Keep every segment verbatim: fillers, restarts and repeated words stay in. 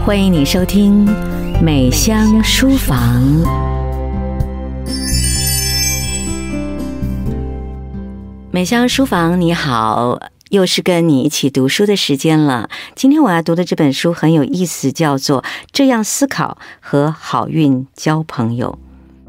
歡迎你收聽美香書房。美香書房，你好，又是跟你一起讀書的時間了。今天我要讀的這本書很有意思，叫做《這樣思考和好運交朋友》。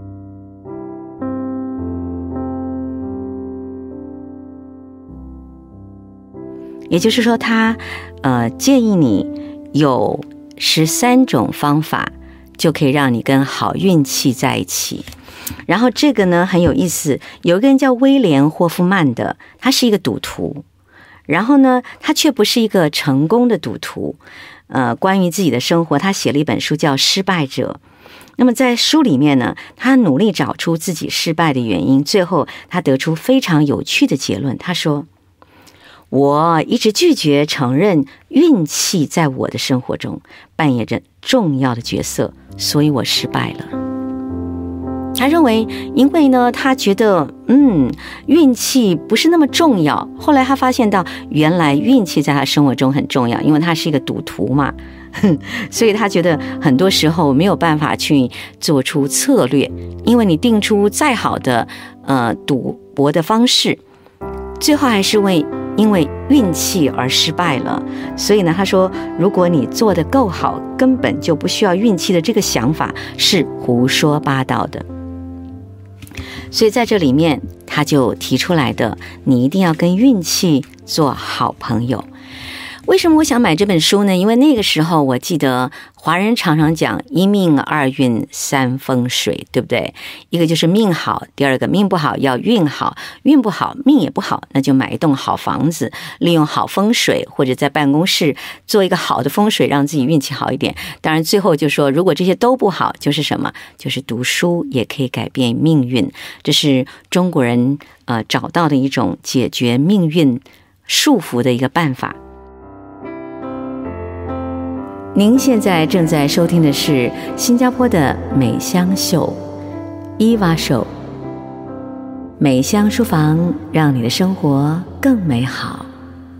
也就是說，他呃建議你有十三種方法，就可以讓你跟好運氣在一起。然後這個呢很有意思，有一個人叫威廉霍夫曼的，他是一個賭徒，然後呢他卻不是一個成功的賭徒。呃，關於自己的生活，他寫了一本書叫《失敗者》。那麼在書裡面呢，他努力找出自己失敗的原因，最後他得出非常有趣的結論。他說，我一直拒絕承認運氣在我的生活中扮演着重要的角色，所以我失敗了。他認為，因為呢，他覺得，嗯，運氣不是那麼重要。後來他發現到，原來運氣在他生活中很重要，因為他是一個賭徒嘛，所以他覺得很多時候沒有辦法去做出策略，因為你定出再好的呃賭博的方式，最後還是為因為運氣而失敗了。所以呢，他說，如果你做得夠好，根本就不需要運氣的這個想法是胡說八道的。所以在這裡面，他就提出來的，你一定要跟運氣做好朋友。為什麼我想買這本書呢？因為那個時候我記得華人常常講一命二運三風水，對不對？一個就是命好，第二個命不好要運好，運不好命也不好，那就買一棟好房子，利用好風水，或者在辦公室做一個好的風水，讓自己運氣好一點。當然最後就說，如果這些都不好，就是什麼？就是讀書也可以改變命運。這是中國人呃找到的一種解決命運束縛的一個辦法。您現在正在收聽的是新加坡的美香秀伊娃秀，美香書房，讓你的生活更美好。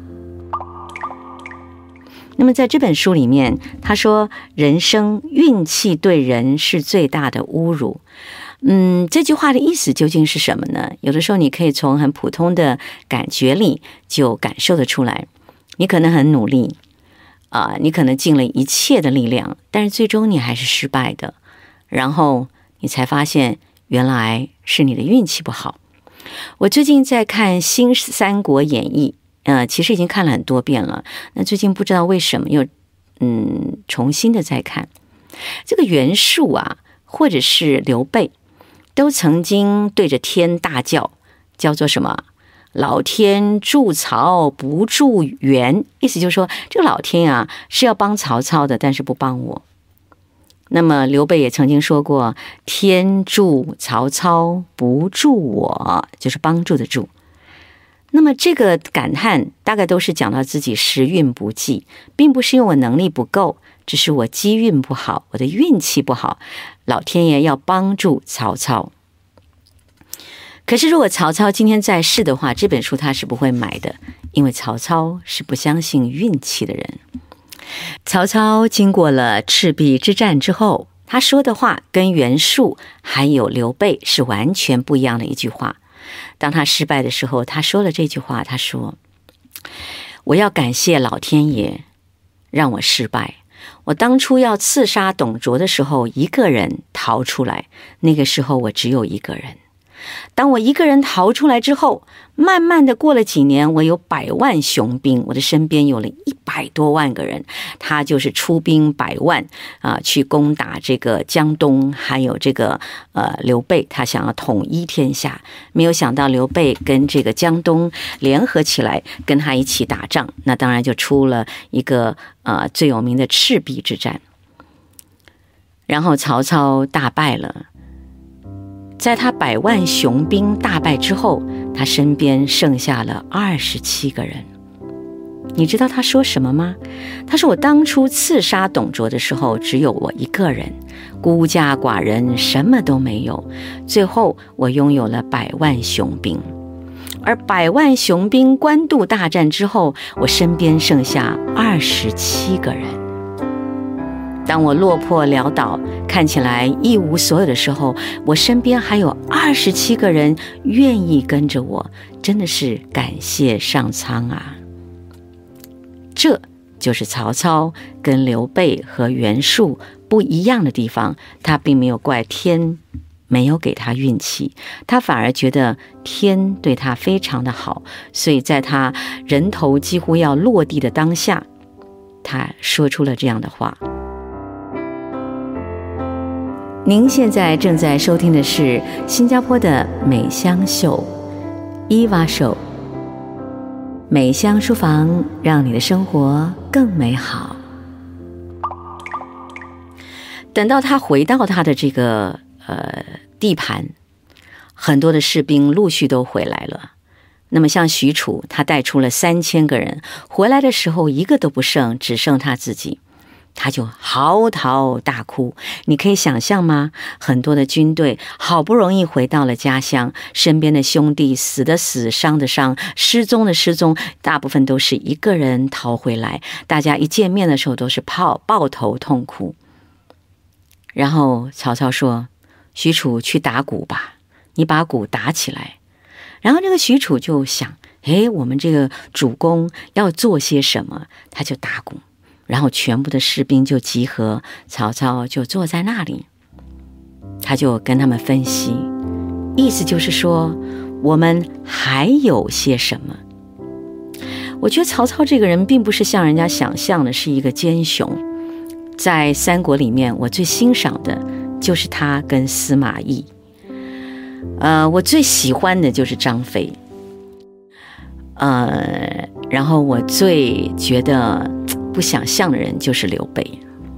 那麼在這本書裡面，他說人生運氣對人是最大的侮辱。嗯，這句話的意思究竟是什麼呢？有的時候你可以從很普通的感覺裡就感受得出來。你可能很努力啊、呃，你可能盡了一切的力量，但是最終你還是失敗的，然後你才發現原來是你的運氣不好。我最近在看《新三國演義》，呃，其實已經看了很多遍了。那最近不知道為什麼又嗯重新的在看。這個袁術啊，或者是劉備，都曾經對着天大叫，叫做什麼？老天助曹不助袁，意思就是說，這個老天啊是要幫曹操的，但是不幫我。那麼劉備也曾經說過，天助曹操不助我，就是幫助的助。那麼這個感嘆大概都是講到自己時運不濟，並不是因為我能力不夠，只是我機運不好，我的運氣不好，老天爺要幫助曹操。可是如果曹操今天在世的話，這本書他是不會買的，因為曹操是不相信運氣的人。曹操經過了赤壁之戰之後，他說的話跟袁術還有劉備是完全不一樣的一句話。當他失敗的時候，他說了這句話，他說，我要感謝老天爺讓我失敗。我當初要刺殺董卓的時候，一個人逃出來，那個時候我只有一個人。當我一個人逃出來之後，慢慢的過了幾年，我有百萬雄兵，我的身邊有了一百多萬個人，他就是出兵百萬啊、呃，去攻打這個江東，還有這個呃劉備，他想要統一天下，沒有想到劉備跟這個江東聯合起來，跟他一起打仗，那當然就出了一個呃最有名的赤壁之戰，然後曹操大敗了。在他百萬雄兵大敗之後，他身邊剩下了二十七個人。你知道他說什麼嗎？他說，我當初刺殺董卓的時候，只有我一個人，孤家寡人，什麼都沒有。最後我擁有了百萬雄兵，而百萬雄兵官渡大戰之後，我身邊剩下二十七個人。 當我落魄潦倒，看起來一無所有的時候，我身邊還有二十七個人願意跟着我，真的是感謝上蒼啊！這就是曹操跟劉備和袁術不一樣的地方，他並沒有怪天沒有給他運氣，他反而覺得天對他非常的好，所以在他人頭幾乎要落地的當下，他說出了這樣的話。您現在正在收聽的是新加坡的美香秀伊娃秀，美香書房，讓你的生活更美好。等到他回到他的這個呃地盤，很多的士兵陸續都回來了。那麼像許褚，他帶出了三千個人，回來的時候一個都不剩，只剩他自己。他就嚎啕大哭，你可以想象嗎？很多的軍隊好不容易回到了家鄉，身邊的兄弟死的死，傷的傷，失蹤的失蹤，大部分都是一個人逃回來。大家一見面的時候都是抱抱頭痛哭。然後曹操說：“許褚去打鼓吧，你把鼓打起來。”然後這個許褚就想：“誒，我們這個主公要做些什麼？”他就打鼓。然後全部的士兵就集合，曹操就坐在那裡，他就跟他們分析，意思就是說我們還有些什麼。我覺得曹操這個人並不是像人家想象的是一個奸雄，在三國裡面我最欣賞的就是他跟司馬懿，呃，我最喜歡的就是張飛，呃，然後我最覺得不想象的人就是劉備。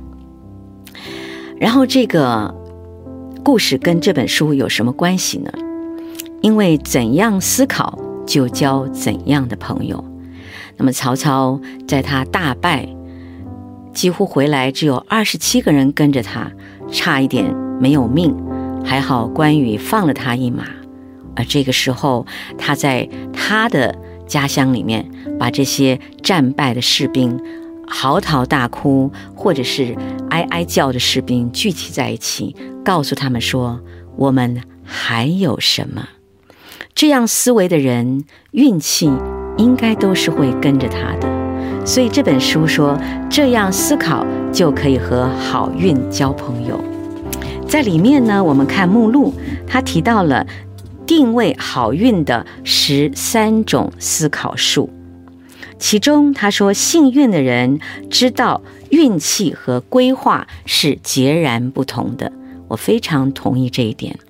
然後這個故事跟這本書有什麼關係呢？因為怎樣思考就交怎樣的朋友。那麼曹操在他大敗，幾乎回來只有二十七個人跟着他，差一點沒有命，還好關羽放了他一馬。而這個時候他在他的家鄉裡面把這些戰敗的士兵嚎啕大哭或者是哀哀叫的士兵聚集在一起，告訴他們說我們還有什麼。這樣思維的人運氣應該都是會跟着他的，所以這本書說這樣思考就可以和好運交朋友。在裡面呢，我們看目錄，他提到了定位好運的十三種思考術。其中他說幸運的人知道運氣和規劃是截然不同的，我非常同意這一點。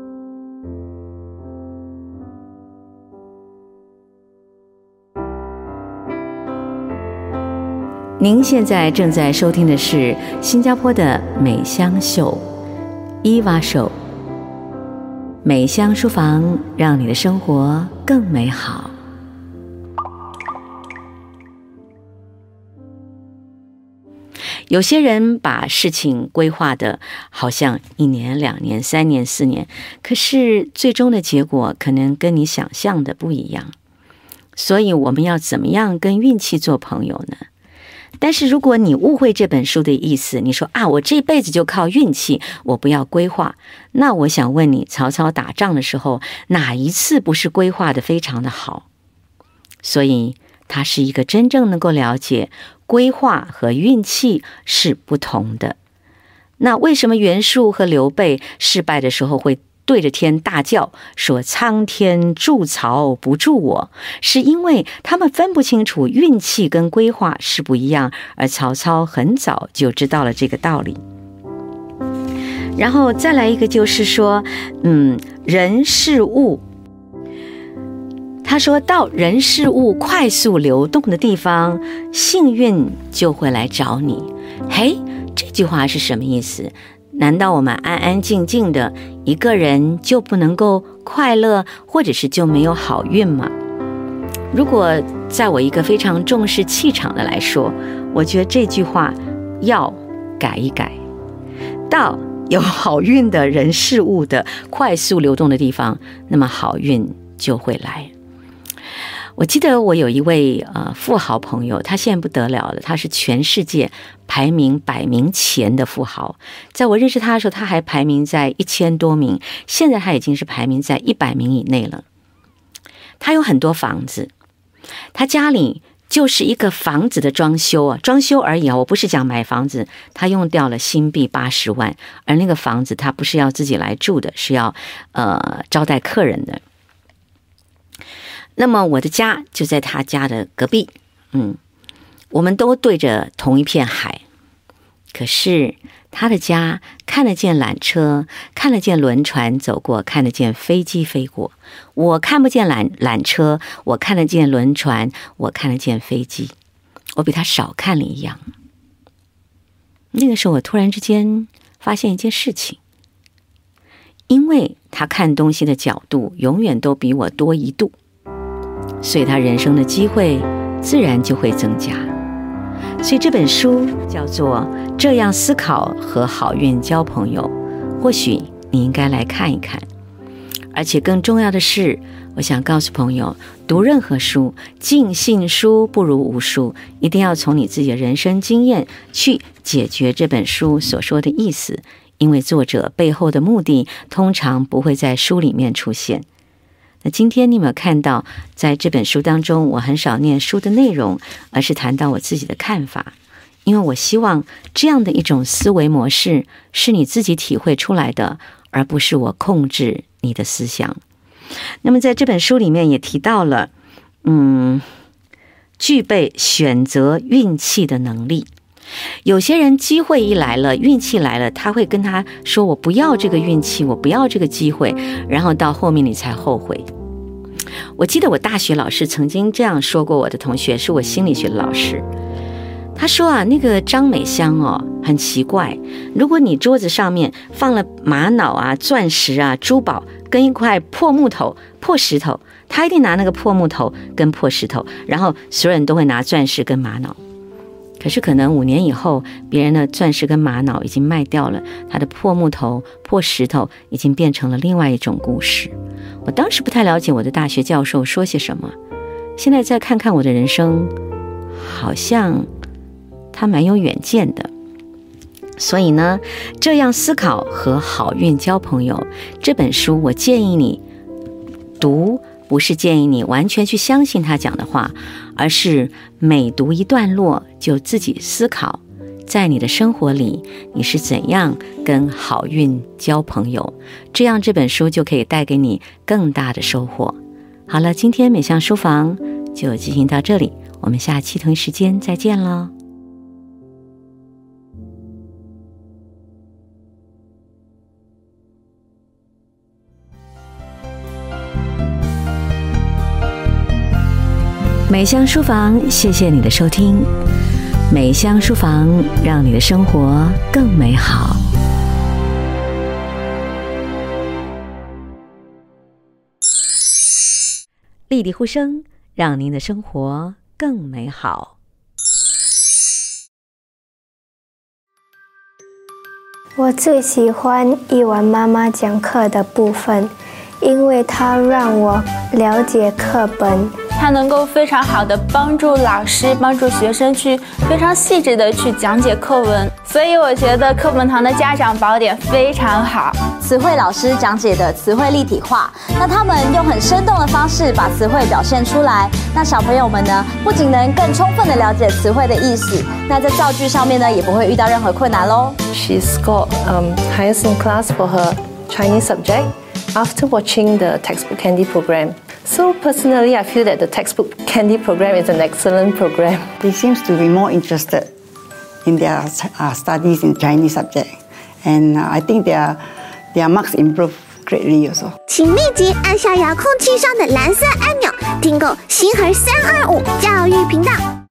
您現在正在收聽的是新加坡的美香秀伊娃秀，美香書房，讓你的生活更美好。有些人把事情規劃的好像一年、兩年、三年、四年，可是最終的結果可能跟你想象的不一樣。所以我們要怎麼樣跟運氣做朋友呢？但是如果你誤會這本書的意思，你說啊，我這輩子就靠運氣，我不要規劃。那我想問你，曹操打仗的時候，哪一次不是規劃的非常的好？所以他是一個真正能夠了解規劃和運氣是不同的。那為什麼袁術和劉備失敗的時候會對着天大叫說蒼天助曹不助我？是因為他們分不清楚運氣跟規劃是不一樣，而曹操很早就知道了這個道理。然後再來一個就是說，嗯，人事物，他說到人事物快速流動的地方，幸運就會來找你。嘿，這句話是什麼意思？難道我們安安靜靜的一個人就不能夠快樂，或者是就沒有好運嗎？如果在我一個非常重視氣場的來說，我覺得這句話要改一改，到有好運的人事物的快速流動的地方，那麼好運就會來。我記得我有一位呃富豪朋友，他現在不得了了，他是全世界排名百名前的富豪。在我認識他的時候，他還排名在一千多名，現在他已經是排名在一百名以內了。他有很多房子，他家裡就是一個房子的裝修啊，裝修而已啊，我不是講買房子。他用掉了新幣八十萬，而那個房子他不是要自己來住的，是要呃招待客人的。那麼我的家就在他家的隔壁，嗯，我們都對着同一片海。可是他的家看得見纜車，看得見輪船走過，看得見飛機飛過。我看不見纜纜車，我看得見輪船，我看得見飛機。我比他少看了一樣。那個時候我突然之間發現一件事情，因為他看東西的角度永遠都比我多一度，所以他人生的機會自然就會增加。所以這本書叫做《這樣思考和好運交朋友》，或許你應該來看一看。而且更重要的是，我想告訴朋友，讀任何書，盡信書不如無書，一定要從你自己的人生經驗去解決這本書所說的意思，因為作者背後的目的通常不會在書裡面出現。那今天你有沒有看到，在這本書當中，我很少念書的內容，而是談到我自己的看法，因為我希望這樣的一種思維模式是你自己體會出來的，而不是我控制你的思想。那麼在這本書裡面也提到了，嗯，具備選擇運氣的能力。有些人機會一來了，運氣來了，他會跟他說，我不要這個運氣，我不要這個機會，然後到後面你才後悔。我記得我大學老師曾經這樣說過，我的同學是我心理學的老師，他說啊，那個張美香哦，很奇怪，如果你桌子上面放了瑪瑙啊、鑽石啊、珠寶跟一塊破木頭、破石頭，他一定拿那個破木頭跟破石頭，然後所有人都會拿鑽石跟瑪瑙。可是可能五年以後，別人的鑽石跟瑪瑙已經賣掉了，他的破木頭、破石頭已經變成了另外一種故事。我當時不太了解我的大學教授說些什麼，現在再看看我的人生，好像他蠻有遠見的。所以呢，這樣思考和好運交朋友這本書，我建議你讀，不是建議你完全去相信他講的話，而是每讀一段落就自己思考，在你的生活裡你是怎樣跟好運交朋友，這樣這本書就可以帶給你更大的收穫。好了，今天美香書房就進行到這裡，我們下期同一時間再見了。美香書房，謝謝你的收聽。美香書房，讓你的生活更美好。麗麗呼聲，讓您的生活更美好。 我最喜歡一完媽媽講課的部分，因為它讓我了解課本。 它能夠非常好的幫助老師、幫助學生去非常細緻的去講解課文，所以我覺得課本堂的家長寶典非常好。 詞彙老師講解的詞彙立體化，那他們用很生動的方式把詞彙表現出來，那小朋友們呢，不僅能更充分的了解詞彙的意思，那在造句上面呢，也不會遇到任何困難嘍。 She scored um, highest in class for her Chinese subject after watching the textbook Candy program. So personally, I feel that the textbook Candy program is an excellent program. They seem to be more interested in their uh, studies in Chinese subject, and uh, I think their their marks improve greatly also. 請立即按下遙控器上的藍色按鈕，訂購星河三二五教育頻道。